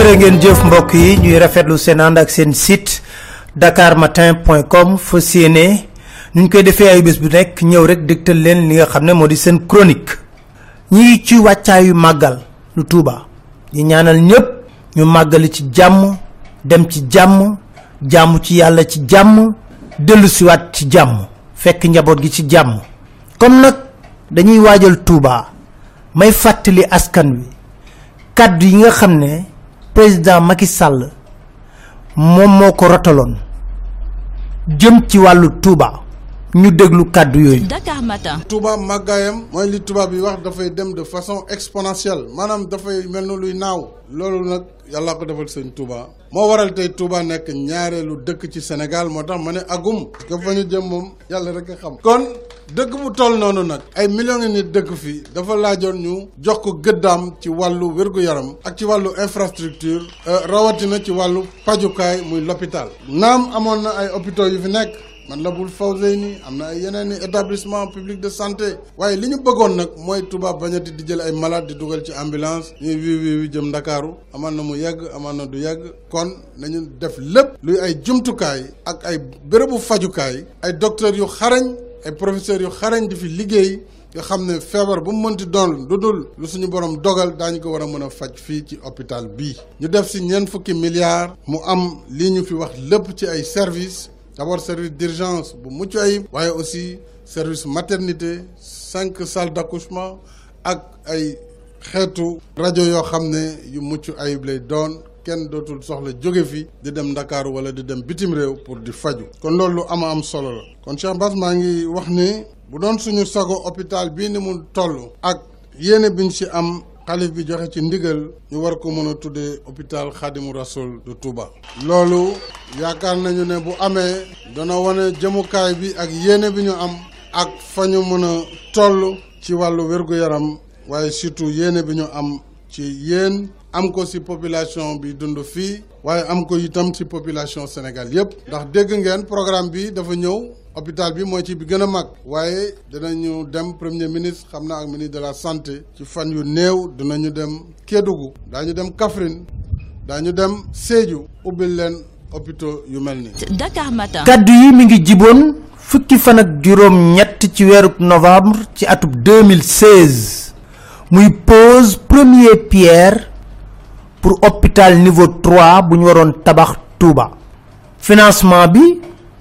jërë ngeen jëf mbokk yi ñuy rafetlu seen ànd ak seen site dakarmatin.com fas yéene ñu koy defee ay bés bu nekk ñëw rek dégtal leen li nga xam ne moo di seen chronique ñi ci wàccaayu màggal lu Tuuba ñi ñaanal ñëpp ñu màggali ci jàmm dem ci jàmm jàmm ci yàlla ci jàmm dellu siwaat ci jàmm fekk njaboot gi ci jàmm comme nag dañuy waajal Tuuba may fàttali askan wi kaddu yi nga xam ne président Macky Sall moom moo ko rotaloon jëm ci wàllu Touba ñu déglu kaddu yooyu. Dakar Matin. Touba màggaayam mooy li tubaab yi wax dafay dem de façon exponentielle maanaam dafay mel na luy naaw loolu nag yàlla ko defal sëñ Touba moo waral tey Touba nekk ñaareelu dëkk ci Sénégal moo tax ma ne agum parce que fa ñu jëm moom yàlla rek a xam. kon dëkk bu toll noonu nag ay millions ngi nit dëkk fii dafa laajoon ñu jox ko gëddaam ci wàllu wér-gu-yaram ak ci wàllu infrastructure rawatina ci wàllu pajukaay muy l'hôpital naam amoon na ay hôpitaux yu fi nekk man la bul Fawzeyni am na ay yeneen i établissement public de santé waaye li ñu bëggoon nag mooy Touba bañati di jël ay malade di dugal ci ambulance ñuy wii jëm Ndakaaru amaan na mu yegg amaan na du yegg kon nañu def lépp luy ay jumtukaay ak ay bérébu fajukaay ay docteurs yu xarañ ay professeurs yu xarañ di fi liggéey nga xam ne feebar bu mu mënti doon lu dul lu suñu borom dogal daañu ko war a mën a faj fii ci hôpital bii ñu def si ñeent fukki milliards mu am lii ñu fi wax lépp ci ay services d'abord service d'urgence bu mucc ayib waaye aussi service maternité 5 salles d'accouchement ak ay xeetu rajo yoo xam ne yu mucc ayib lay doon kenn dootul soxla jóge fi di dem Ndakaaru wala di dem bitim réew pour di faju kon loolu lu am solo la kon Cheikh Bass maa ngi wax ni bu doon suñu sago hôpital bii ni mu toll ak yéene biñ ci am xalif bi joxe ci ndigal ñu war ko mën a tuddee hôpital Khadimou Rassoul de Touba loolu yaakaar nañu ne bu amee dana wane jëmukaay bi ak yéene bi ñu am ak fa ñu mën a toll ci wàllu wér-gu-yaram waaye surtout yéene bi ñu am ci yéen am ko ci population bi dund fii waaye am ko itam ci population Sénégal yépp ndax dégg ngeen programme bi dafa ñëw hôpital bi mooy ci bi gën a mag waaye dinañu dem premier ministre xam naa ak ministre de la santé ci fan yu néew dinañu dem Kédougou daañu dem Kaffrine daañu dem Sédhiou ubbil leen hôpitaux yu mel ni Dakar Matin. kaddu yi mi ngi jiboon fukki fan ak juróom ñett ci weeru novembre ci atub 2016 muy pose premier pierre pour hôpital niveau 3 bu ñu waroon tabax Touba financement bi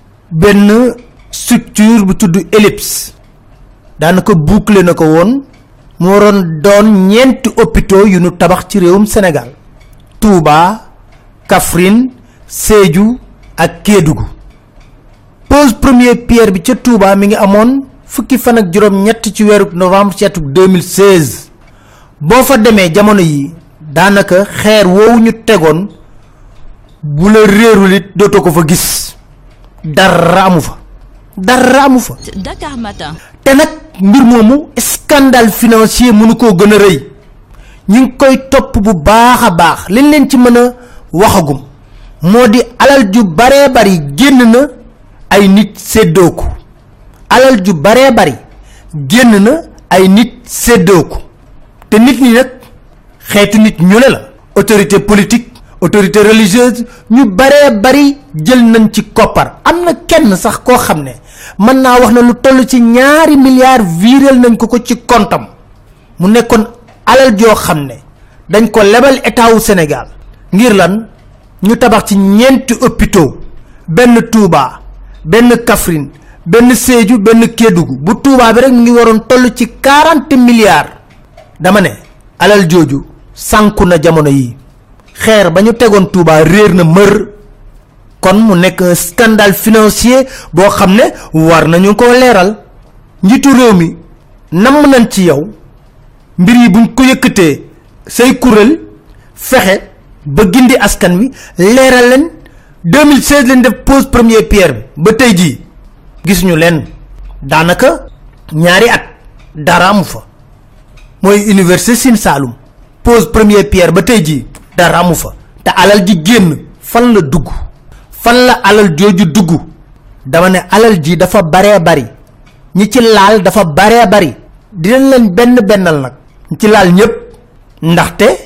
benn structure bu tudd Ellipse daanaka boucler na ko woon mu waroon doon ñeenti hôpitaux yu ñu tabax ci réewum Sénégal Touba Kaffrine Sédhiou ak Kédougou pose premier pierre bi ca Touba mi ngi amoon fukki fan ak juróom ñett ci weeru novembre ci atum 2016 boo fa demee jamono yi daanaka xeer woowu ñu tegoon bu la réerul it dootoo ko fa gis dara amu fa Dakar Matin. te nag mbir moomu scandale financier mënu koo gën a rëy ñu ngi koy topp bu baax a baax liñ leen ci mën a waxagum moo di alal ju baree bari génn na ay nit séddoo ko alal ju baree bari génn na ay nit séddoo ko te nit ñi nag xeetu nit ñu ne la autorité politique autorité religieuse ñu baree bari jël nañ ci koppar am na kenn sax koo xam ne mën naa wax na lu toll ci 2 milliards viréel nañ ko ci comptam mu nekkoon alal joo xam ne dañ ko lebal état wu Sénégal ngir lan ñu tabax ci ñeenti hôpitaux benn Touba benn Kaffrine benn Sédhiou benn Kédougou bu Touba bi rek mu ngi waroon toll ci 40 milliards dama ne alal jooju sànku na jamono yi xeer ba ñu tegoon Touba réer na mër kon mu nekk un scandale financier boo xam ne war nañu ko leeral njiitu réew mi namm nañ ci yow mbir yi buñ ko yëkkatee say kuréel fexe ba gindi askan wi leeral leen 2016 leen def pose première pierre bi ba tey jii gis ñu leen daanaka ñaari at dara amu fa mooy université Sine Saloum pose première pierre ba tey jii dara amu fa te alal ji génn fan la dugg fan la alal jooju dugg dama ne alal ji dafa baree bari ñi ci laal dafa baree bari dinañ leen benn bennal nag ñi ci laal ñëpp ndaxte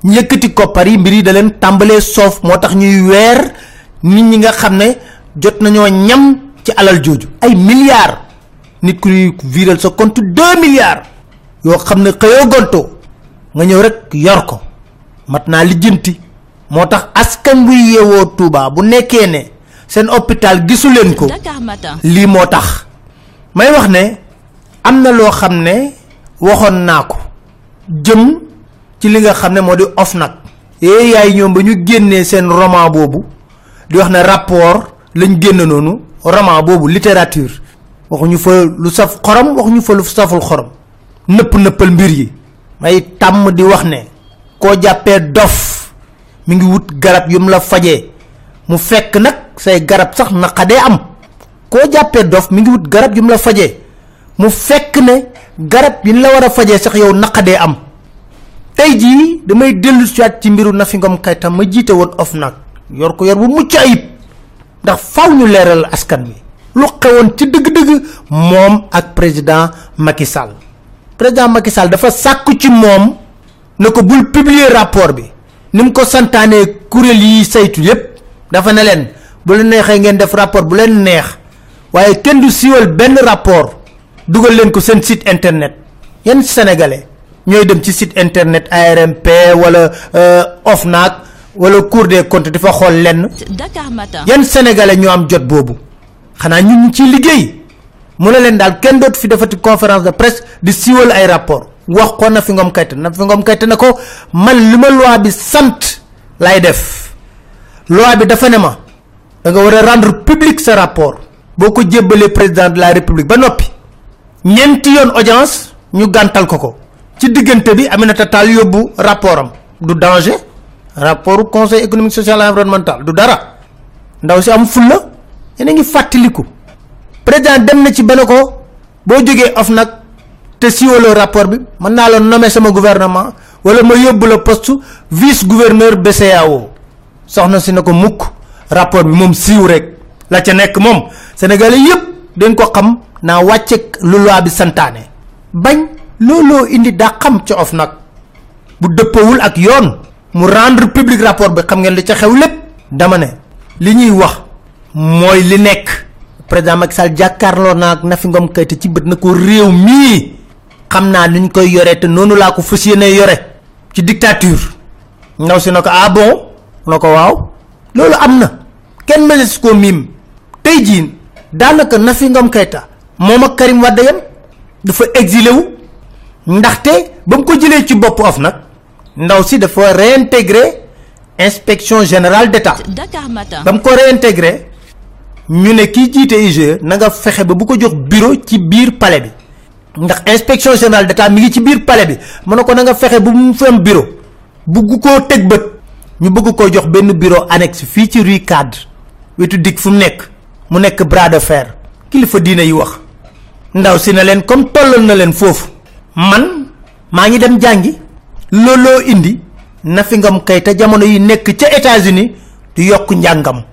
ñu yëkkati koppar yi mbir yi da leen tàmbalee soof moo tax ñuy weer nit ñi nga xam ne jot nañoo ñam ci alal jooju ay milliards nit ku ñuy viral sa compte 2 milliards yoo xam ne xëyoo gontoo nga ñëw rek yor ko mat naa lijjanti moo tax askan buy yeewoo Touba bu nekkee ne seen hôpital gisu leen ko lii moo tax may wax ne am na loo xam ne waxoon naa ko jëm ci li nga xam ne moo di OFNAC yaay ñoom ba ñu génnee seen roman boobu di wax ne rapport lañ génn noonu roman boobu littérature waxuñu fa lu saf xorom waxuñu fa lu saful xorom nëppal mbir yi may tàmm di wax ne koo jàppee dof mi ngi wut garab yum la fajee mu fekk nag say garab sax naqadee am koo jàppee dof mi ngi wut garab yum la fajee mu fekk ne garab yi la war a fajee sax yow naqadee am tey jii damay dellu ci mbiru Nafi Ngom Keïta ma jiite woon OFNAC yor ko yor bu mucc ayib ndax faaw ñu leeral askan wi lu xewoon ci dëgg-dëgg moom ak président Macky Sall dafa sàkku ci moom ne ko bul publier rapport bi ni mu ko santaanee kuréel yi saytu yépp dafa ne leen bu leen neexee ngeen def rapport bu leen neex waaye kenn du siiwal benn rapport dugal leen ko seen site internet yenn sénégalais ñooy dem ci site internet ARMP wala OFNAC wala Cour des comptes di fa xool lenn Dakar Matin yenn sénégalais ñoo am jot boobu xanaa ñun ñu ciy liggéey mu ne leen daal kenn dootu fi defati conférence de presse di siiwal ay rapport wax ko Nafi Ngom Keïta na ko man li ma loi bi sant lay def loi bi dafa ne ma da nga war a rendre public sa rapport boo ko jébbalee président de la république ba noppi ñeenti yoon audience ñu gàntal ko ci diggante bi Aminata Tall yóbbu rapport am du danger rapport conseil économique social et environnemental du dara ndaw si am fulla yéen a ngi fàttaliku président dem na ci benn ko boo jógee OFNAC te siiwaloo rapport bi mën naa la nommer sama gouvernement wala ma yóbbu la poste vice gouverneur BCEAO soxna si na ko mukk rapport bi moom siiw rek la ca nekk moom sénégalais yépp dañ ko xam naa wàcce lu loi bi santaane bañ looloo indi daa xam ca OFNAC bu dëppawul ak yoon mu rendre public rapport bi xam ngeen li ca xew lépp dama ne li ñuy wax mooy li nekk président Macky Sall jàkkaarloo naa ak Nafi Ngom Keïta ci bët na ko réew mii xam naa ni ñu koy yore te noonu laa ko fas yéene yore ci dictature ndaw si na ko ah bon na ko waaw loolu am na kenn mënees koo miim tey jii daanaka Nafi Ngom Keïta moom ak Karim Wade yam dafa exilé wu ndaxte ba mu ko jëlee ci bopp OFNAC ndaw si dafa réintégré inspection générale d'État Dakar Matin ba mu ko réintégré ñu ne kii jiite IGE na nga fexe ba bu ko jox bureau ci biir palais bi ndax inspection générale d'État mi ngi ci biir palais bi mu ne ko na nga fexe bu mu fi am bureau bugg koo teg bët ñu bëgg koo jox benn bureau annexe fii ci rue Cadre wetu dig fu mu nekk bras de fer kilifa diine yi wax ndaw si na leen comme tollal na leen foofu man maa ngi dem jàngi looloo indi Nafi Ngom Keïta jamono yi nekk ca États-Unis di yokk njàngam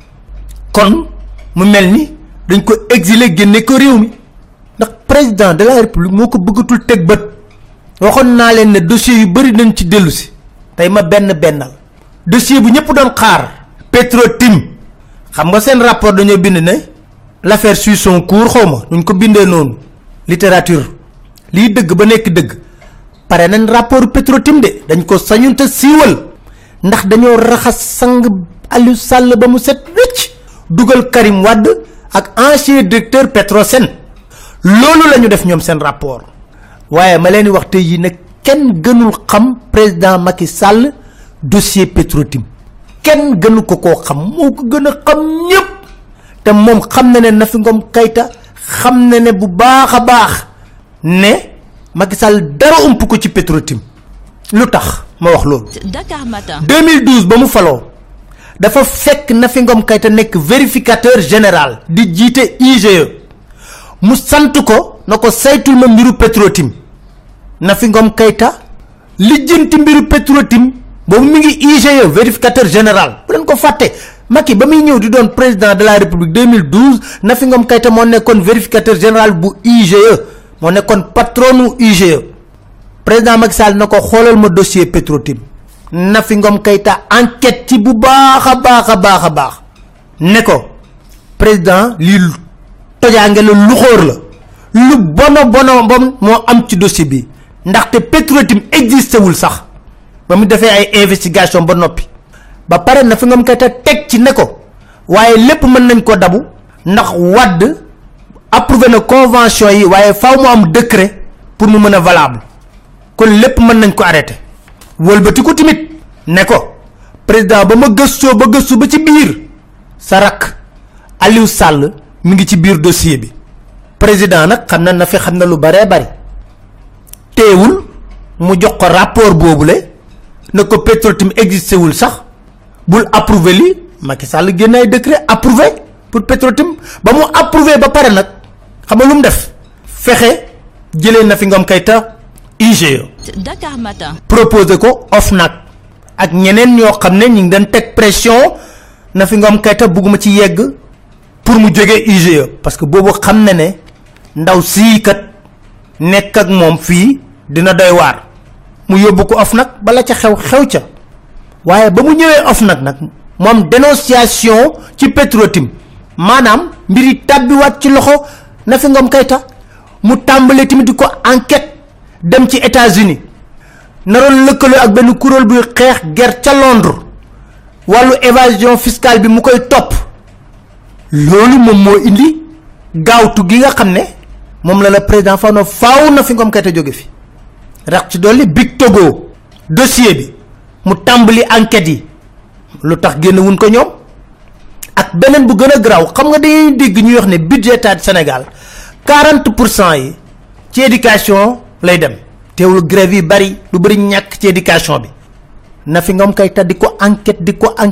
kon mu mel ni dañ ko exilé génne ko réew mi ndax président de la république moo ko bëggatul teg bët waxoon naa leen ne dossier yu bëri nañ ci dellu si tey ma bennal dossier bu ñëpp doon xaar Petro-Tim xam nga seen rapport dañoo bind ne l'affaire suit son cours xaw ma duñ ko bindee noonu littérature lii dëgg ba nekk dëgg pare nañ rapport Petro-Tim de dañ ko sañun te siiwal ndax dañoo raxas sang Aliou Sall ba mu set wecc dugal Karim Wade ak ancien directeur Petrosen loolu la ñu def ñoom seen rapport waaye ma leen di wax tey yi nag kenn gënul xam président Macky Sall dossier Petro-Tim kenn gënu ko koo xam moo ko gën a xam ñëpp te moom xam na ne Nafi Ngom Keïta xam na ne bu baax a baax ne Macky Sall dara ump ko ci Petro-Tim lu tax ma wax loolu. Dakar Matin 2012 ba mu faloo dafa fekk Nafi Ngom Keïta nekk vérificateur général di jiite IGE mu sant ko na ko saytul ma mbiru Petro-Tim Nafi Ngom Keïta lijjanti mbiru Petro-Tim boobu mi ngi IGE vérificateur général bu leen ko fàtte Macky ba muy ñëw di doon président de la République 2012 Nafi Ngom Keïta moo nekkoon vérificateur général bu IGE moo nekkoon patronu IGE président Macky Sall na ko xoolal ma dossier Petro-Tim Nafi Ngom Keïta enquête ci bu baax a baax ne ko président lii tojaange la lu xóor la lu bon moo am ci dossier bi ndaxte Petro-Tim existé wul sax ba mu defee ay investigation ba noppi ba pare Nafi Ngom Keïta teg ci ne ko waaye lépp mën nañ ko dabu ndax Wade approuvé na convention yi waaye faaw mu am décret pour mu mën a valable kon lépp mën nañ ko arrêté wëlbati ko timit ne ko président ba ma gëstoo ba gëstu ba ci biir sa rakk Aliou Sall mi ngi ci biir dossier bi président nag xam na fi xam na lu baree bari teewul mu jox ko rapport boobule ne ko Petro-Tim existé wul sax bul approuvé li Macky Sall génne ay décret approuvé pour Petro-Tim ba mu approuvé ba pare nag xam nga lu mu def fexe jëlee Nafi Ngom Keïta IGE. Dakar Matin. proposé ko OFNAC ak ñeneen ñoo xam ne ñu ngi doon teg pression Nafi Ngom Keïta bugguma ci yegg pour mu jógee IGE parce que boobu xam na ne ndaw sii kat nekk ak moom fii dina doy waar mu yóbbu ko OFNAC bala ca xew ca waaye ba mu ñëwee OFNAC nag moom dénonciation ci Petro-Tim maanaam mbiri tàbbiwaat ci loxo Nafi Ngom Keïta mu tàmbalee tamit di ko enquête dem ci États-Unis naroon lëkkaloo ak benn kuréel buy xeex guerre ca Londres wàllu évasion fiscale bi mu koy topp loolu moom moo indi gaawtu gi nga xam ne moom la président faaw Nafi Ngom Keïta jóge fi rax ci dolli Big Togo dossier bi mu tàmbali enquête yi lu tax génn wuñ ko ñoom ak beneen bu gën a garaaw xam nga dañuy dégg ñuy wax ne budget état du Sénégal 40% yi ci éducation lay dem teewul grève yi bari lu bari ñàkk ci éducation bi Nafi Ngom Keïta di ko enquête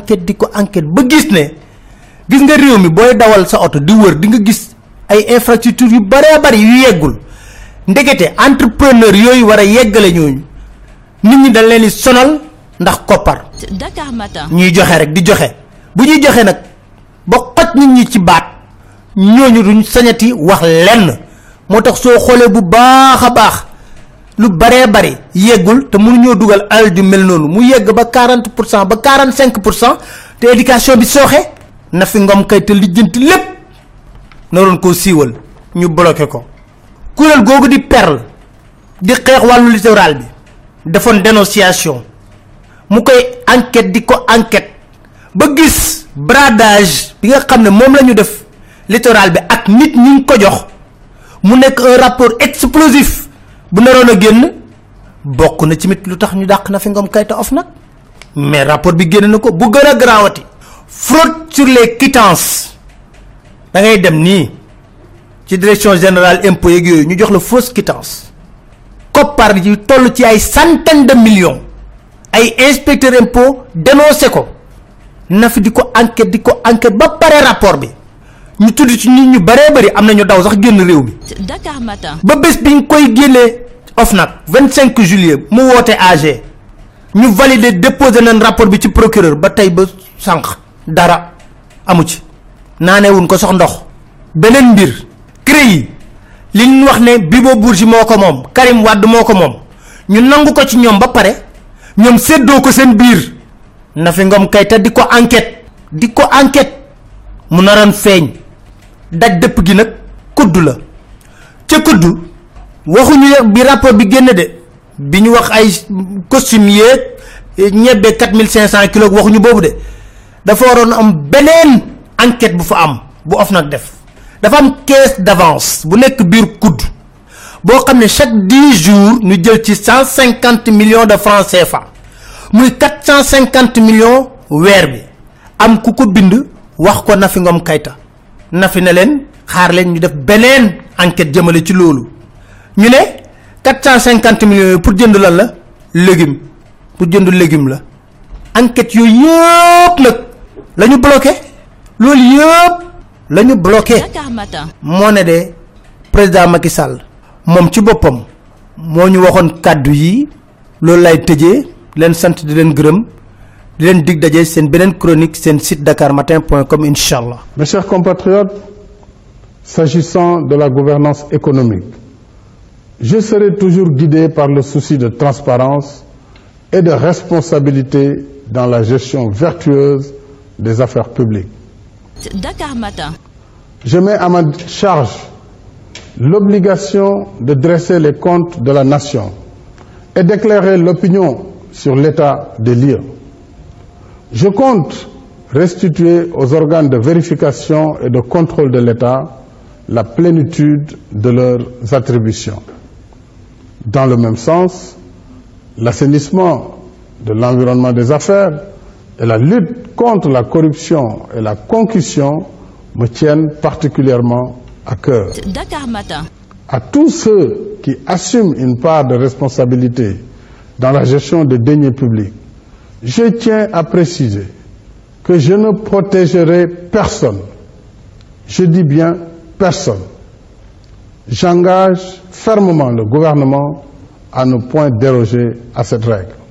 ba gis ne gis nga réew mi booy dawal sa oto di wër di nga gis ay infrastructure yu baree bari yu yeggul ndekete entrepreneur yooyu war a yeggale ñooñu nit ñi dañ leen di sonal ndax koppar. Dakar Matin. ñuy joxe rek di joxe bu ñuy joxe nag ba xoj nit ñi ci baat ñooñu duñ sañati wax lenn moo tax soo xoolee bu baax a baax lu baree bari yeggul te mënuñoo dugal alal ju mel noonu mu yegg ba 40% ba 45% te éducation bi sooxe Nafi Ngom Keïta lijjanti lépp naroon koo siiwal ñu bloqué ko. kuréel googu di perle di xeex wàllu littoral bi defoon dénonciation mu koy enquête di ko enquête ba gis bradage bi nga xam ne moom la ñu def littoral bi ak nit ñi ñu ko jox mu nekk un rapport explosif bu naroon a génn bokk na ci mit lu tax ñu dàq Nafi Ngom Keïta OFNAC mais rapport bi génn na ko bu gën a garaawati fraude sur les quittances da ngay dem nii ci direction générale impôt yeeg yooyu ñu jox la fausse quittance koppar yi toll ci ay centaines de millions ay inspecteur impôt dénoncé ko Nafi di ko enquête ba pare rapport bi ñu tudd ci nit ñu baree bari am na ñu daw sax génn réew mi. Dakar Matin. ba bés bi ñu koy génnee OFNAC 25 juillet mu woote AG ñu valider déposer nañ rapport bi ci procureur ba tey ba sànq dara amu ci naanewuñ ko sax ndox. beneen mbir CREI li ñu wax ne Bibo Bourgi moo ko moom Karim Wade moo ko moom ñu nangu ko ci ñoom ba pare ñoom séddoo ko seen biir Nafi Ngom Keïta di ko enquête mu naroon feeñ daj dëpp gi nag kuddu la ca kuddu waxuñu bi rapport bi génn de bi ñu wax ay costume yeeg ñebbe 4500 kilos waxuñu boobu de dafa waroon am beneen enquête bu fa am bu OFNAC def dafa am caisse d'avance bu nekk biir kudd boo xam ne chaque 10 jours ñu jël ci 150 millions de francs CFA muy 450 millions weer bi am ku ko bind wax ko Nafi Ngom Keïta Nafi ne leen xaar leen ñu def beneen enquête jëmale ci loolu ñu ne 450 millions yi pour jënd lan la légume pour jënd légume la enquête yooyu yëpp nag la ñu bloqué loolu yëpp la ñu bloqué. Dakar Matin. moo ne de président Macky Sall moom ci boppam moo ñu waxoon kàddu yi loolu lay tëjee leen sant di leen gërëm di leen dig daje seen beneen chronique seen site dakarmatin.com inchallah. Mes chers compatriotes, s'agissant de la gouvernance économique, je serai toujours guidé par le souci de transparence et de responsabilité dans la gestion vertueuse des affaires publiques. Dakar Matin. Je mets à ma charge l'obligation de dresser les comptes de la nation et d'éclairer l'opinion sur l'état des lieux. Je compte restituer aux organes de vérification et de contrôle de l'État la plénitude de leurs attributions. Dans le même sens, l'assainissement de l'environnement des affaires et la lutte contre la corruption et la concussion me tiennent particulièrement à cœur. Dakar Matin. À tous ceux qui assument une part de responsabilité dans la gestion des deniers publics, je tiens à préciser que je ne protégerai personne. Je dis bien personne. J'engage fermement le gouvernement à ne point déroger à cette règle.